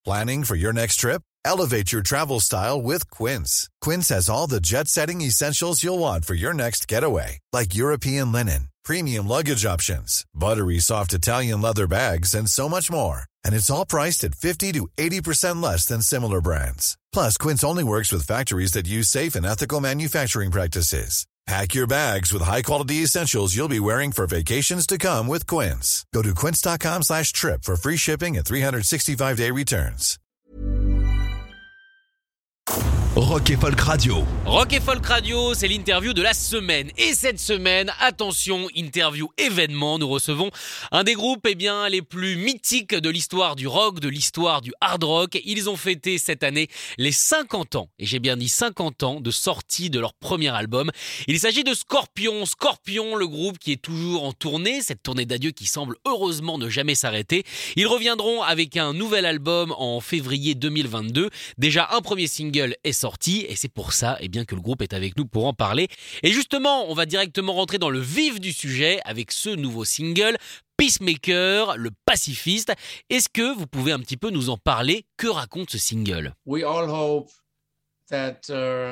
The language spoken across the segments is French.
Planning for your next trip? Elevate your travel style with Quince. Quince has all the jet-setting essentials you'll want for your next getaway, like European linen, premium luggage options, buttery soft Italian leather bags, and so much more. And it's all priced at 50 to 80% less than similar brands. Plus, Quince only works with factories that use safe and ethical manufacturing practices. Pack your bags with high-quality essentials you'll be wearing for vacations to come with Quince. Go to quince.com/trip for free shipping and 365-day returns. Rock et Folk Radio. Rock et Folk Radio, c'est l'interview de la semaine. Et cette semaine, attention, interview événement, nous recevons un des groupes les plus mythiques de l'histoire du rock, de l'histoire du hard rock. Ils ont fêté cette année les 50 ans, et j'ai bien dit 50 ans, de sortie de leur premier album. Il s'agit de Scorpions. Scorpions, le groupe qui est toujours en tournée, cette tournée d'adieu qui semble heureusement ne jamais s'arrêter. Ils reviendront avec un nouvel album en février 2022. Déjà, un premier single est sorti et c'est pour ça que le groupe est avec nous pour en parler. Et justement, on va directement rentrer dans le vif du sujet avec ce nouveau single, Peacemaker, le pacifiste. Est-ce que vous pouvez un petit peu nous en parler? Que raconte ce single? We all hope that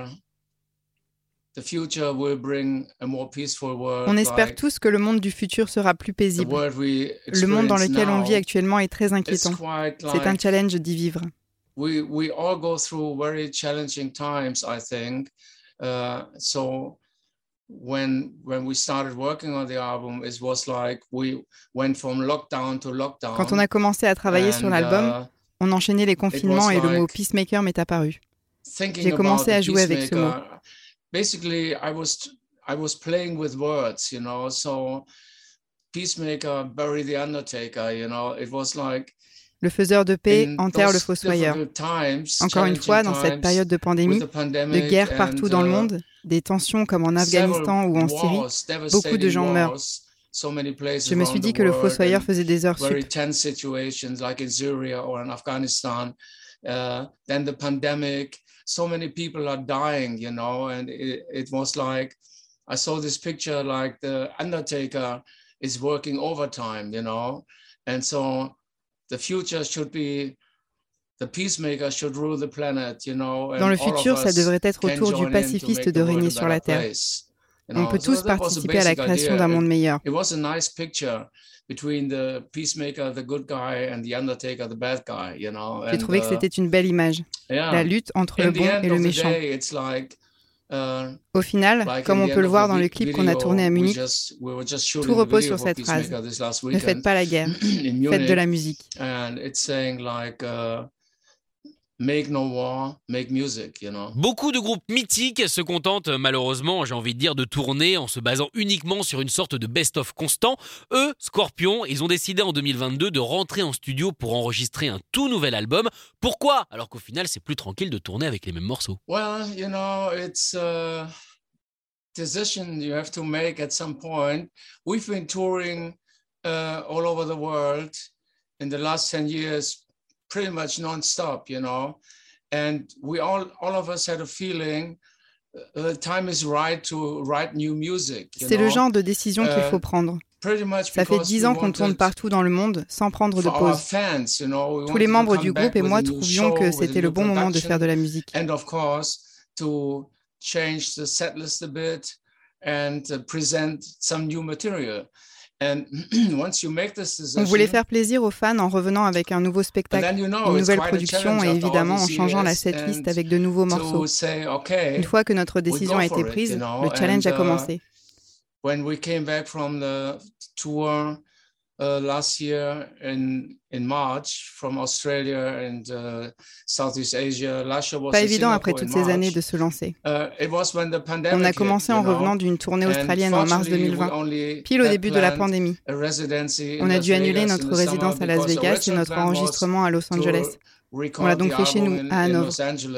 the future will bring a more peaceful world. On espère tous que le monde du futur sera plus paisible. Le monde dans lequel on vit actuellement est très inquiétant. C'est un challenge d'y vivre. We all go through very challenging times, I think. So when we started working on the album, it was like we went from lockdown to lockdown. Quand on a commencé à travailler sur l'album, on enchaînait les confinements et le mot peacemaker m'est apparu. J'ai commencé à jouer avec ce mot. Basically, I was playing with words, you know. So peacemaker, bury the undertaker, you know. It was like le faiseur de paix enterre le fossoyeur. Encore une fois, dans cette période de pandémie, de guerre partout dans le monde, des tensions comme en Afghanistan ou en Syrie, beaucoup de gens meurent. Je me suis dit que le fossoyeur faisait des heures sup. Then the pandemic, so many people are dying, you know, and it was like, I saw this picture like the undertaker is working overtime, you know, and so the future should be the peacemaker should rule the planet, you know. Dans le futur, ça devrait être au tour du pacifiste de régner sur la terre. On peut tous participer à la création d'un monde meilleur. It was a nice picture between the peacemaker, the good guy, and the undertaker, the bad guy, you know. J'ai trouvé que c'était une belle image, la lutte entre le bon et le méchant. Au final, comme on peut le voir dans le clip qu'on a tourné à Munich, tout repose sur cette phrase. Ne faites pas la guerre, faites de la musique. Make no war, make music, you know. Beaucoup de groupes mythiques se contentent malheureusement, j'ai envie de dire, de tourner en se basant uniquement sur une sorte de best-of constant. Eux, Scorpions, ils ont décidé en 2022 de rentrer en studio pour enregistrer un tout nouvel album. Pourquoi? Alors qu'au final, c'est plus tranquille de tourner avec les mêmes morceaux. Well, you know, it's a decision you have to make at some point. We've been touring all over the world in the last 10 years. Pretty much non-stop, you know, and we all of us had a feeling the time is right to write new music. C'est le genre de décision qu'il faut prendre. Ça fait 10 ans qu'on tourne partout dans le monde sans prendre de pause. Tous les membres du groupe et moi trouvions que c'était le bon moment de faire de la musique. And of course, to change the setlist a bit and present some new material. On voulait faire plaisir aux fans en revenant avec un nouveau spectacle, une nouvelle production et évidemment en changeant la setlist avec de nouveaux morceaux. Une fois que notre décision a été prise, le challenge a commencé. When we came back from the tour last year in March from Australia and Southeast Asia, pas évident après toutes ces années de se lancer. On a commencé en revenant d'une tournée australienne en mars 2020, pile au début de la pandémie. On a dû annuler notre résidence à Las Vegas et notre enregistrement à Los Angeles. On l'a donc fait chez nous, à Hanovre.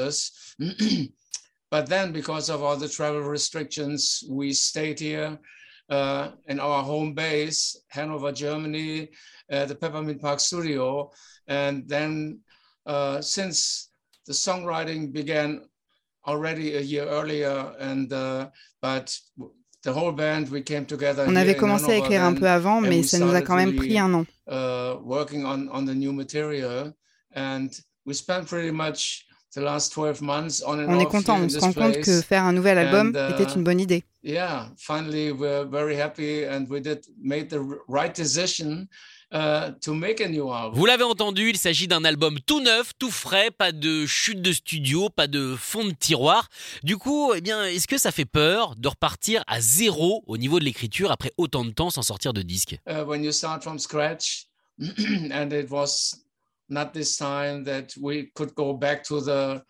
But then, because of all the travel restrictions, we stayed here in our home base, Hanover, Germany, the Peppermint Park studio. And then, since the songwriting began already a year earlier, but the whole band, we came together. On avait commencé à écrire un peu avant, mais ça nous a quand même pris un an. Working on the new material, and we spent pretty much the last 12 months on and on est off content, here on in se this rend compte place. que faire un nouvel album était une bonne idée. Yeah, finally we're very happy and we made the right decision to make a new album. Vous l'avez entendu, il s'agit d'un album tout neuf, tout frais, pas de chute de studio, pas de fond de tiroir. Du coup, est-ce que ça fait peur de repartir à zéro au niveau de l'écriture après autant de temps sans sortir de disque? When you start from scratch, and it was not this time that we could go back to the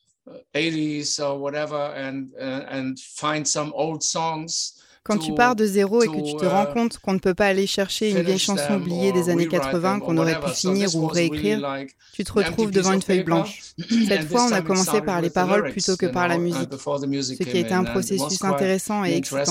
80s or whatever and find some old songs. Quand tu pars de zéro et que tu te rends compte qu'on ne peut pas aller chercher une vieille chanson oubliée des années 80 qu'on aurait pu finir ou réécrire, tu te retrouves devant une feuille blanche. Cette fois, on a commencé par les paroles plutôt que par la musique, ce qui a été un processus intéressant et excitant.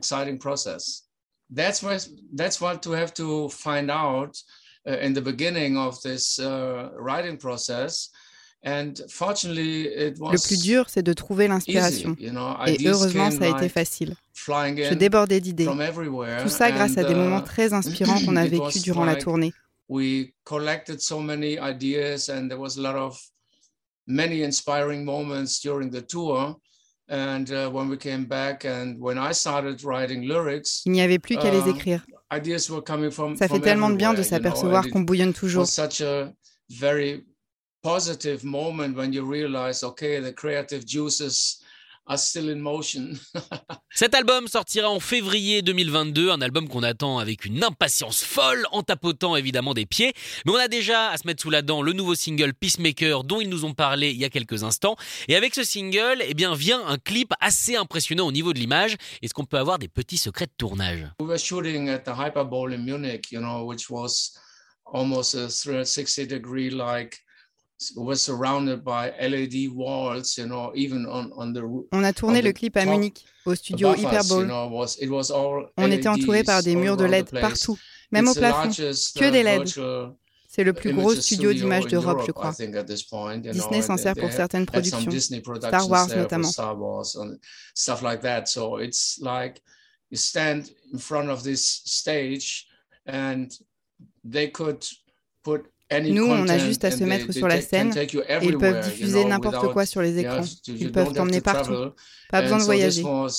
That's what to have to find out in the beginning of this writing process. And fortunately, it was le plus dur, c'est de trouver l'inspiration. Et heureusement, ça a été facile. Je débordais d'idées. Tout ça grâce à des moments très inspirants qu'on a vécus durant la tournée. We collected so many ideas and there was many inspiring moments during the tour. And when we came back and when I started writing lyrics, il n'y avait plus qu'à les écrire. Ideas were coming from ça fait tellement de bien de s'apercevoir qu'on bouillonne toujours. Such a very positive moment when you realize, okay, the creative juices are still in motion. Cet album sortira en février 2022, un album qu'on attend avec une impatience folle, en tapotant évidemment des pieds. Mais on a déjà à se mettre sous la dent le nouveau single Peacemaker dont ils nous ont parlé il y a quelques instants. Et avec ce single, vient un clip assez impressionnant au niveau de l'image. Est-ce qu'on peut avoir des petits secrets de tournage? We were shooting at the Hyperbole in Munich, which was almost a 360-degree was surrounded by LED walls, even on the roof. On a tourné le clip à Munich, au studio Hyperbole. On était entouré par des murs de LED partout, même au plafond, que des LED. C'est le plus gros studio d'images d'Europe, je crois. Disney s'en sert pour certaines productions, Star Wars notamment. Stuff like that. So it's like you stand in front of this stage and they could put nous, on a juste à se mettre sur la scène et ils peuvent diffuser n'importe quoi sur les écrans. Ils peuvent t'emmener partout. Pas besoin de voyager.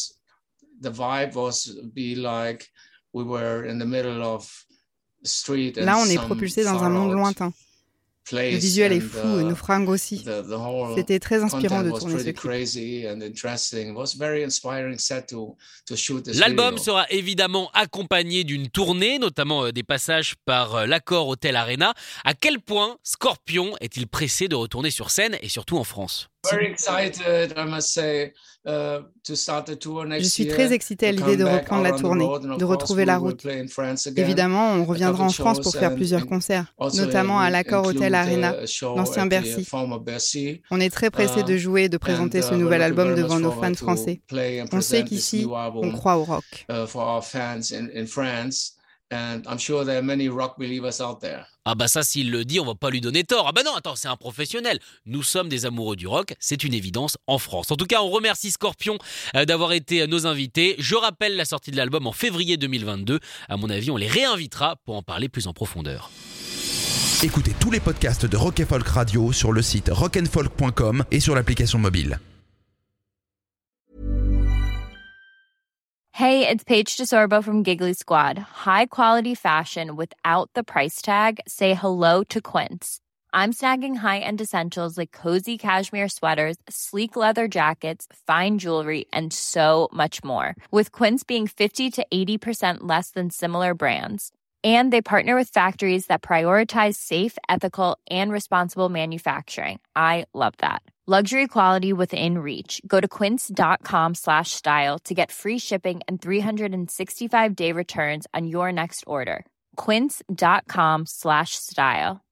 Là, on est propulsé dans un monde lointain. Le visuel est fou, nos fringues aussi. C'était très inspirant de tourner ce clip. L'album sera évidemment accompagné d'une tournée, notamment des passages par l'Accor Hotel Arena. À quel point Scorpions est-il pressé de retourner sur scène et surtout en France? Je suis très excité à l'idée de reprendre la tournée, de retrouver la route. Évidemment, on reviendra en France pour faire plusieurs concerts, notamment à l'Accor Hotel Arena, l'ancien Bercy. On est très pressé de jouer et de présenter ce nouvel album devant nos fans français. On sait qu'ici, on croit au rock. And I'm sure there are many rock believers out there. Ah bah ça, s'il le dit, on va pas lui donner tort. Ah bah non, attends, c'est un professionnel. Nous sommes des amoureux du rock, c'est une évidence en France. En tout cas, on remercie Scorpions d'avoir été nos invités. Je rappelle la sortie de l'album en février 2022. À mon avis, on les réinvitera pour en parler plus en profondeur. Écoutez tous les podcasts de Rock & Folk Radio sur le site rockandfolk.com et sur l'application mobile. Hey, it's Paige DeSorbo from Giggly Squad. High quality fashion without the price tag. Say hello to Quince. I'm snagging high-end essentials like cozy cashmere sweaters, sleek leather jackets, fine jewelry, and so much more. With Quince being 50 to 80% less than similar brands. And they partner with factories that prioritize safe, ethical, and responsible manufacturing. I love that. Luxury quality within reach. Go to quince.com/style to get free shipping and 365-day returns on your next order. Quince.com/style.